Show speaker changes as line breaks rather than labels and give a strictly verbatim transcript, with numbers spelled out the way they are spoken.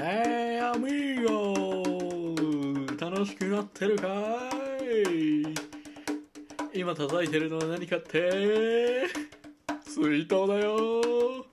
Hey amigo! 楽しくなってるかい？今叩いてるのは何かって？水筒だよ。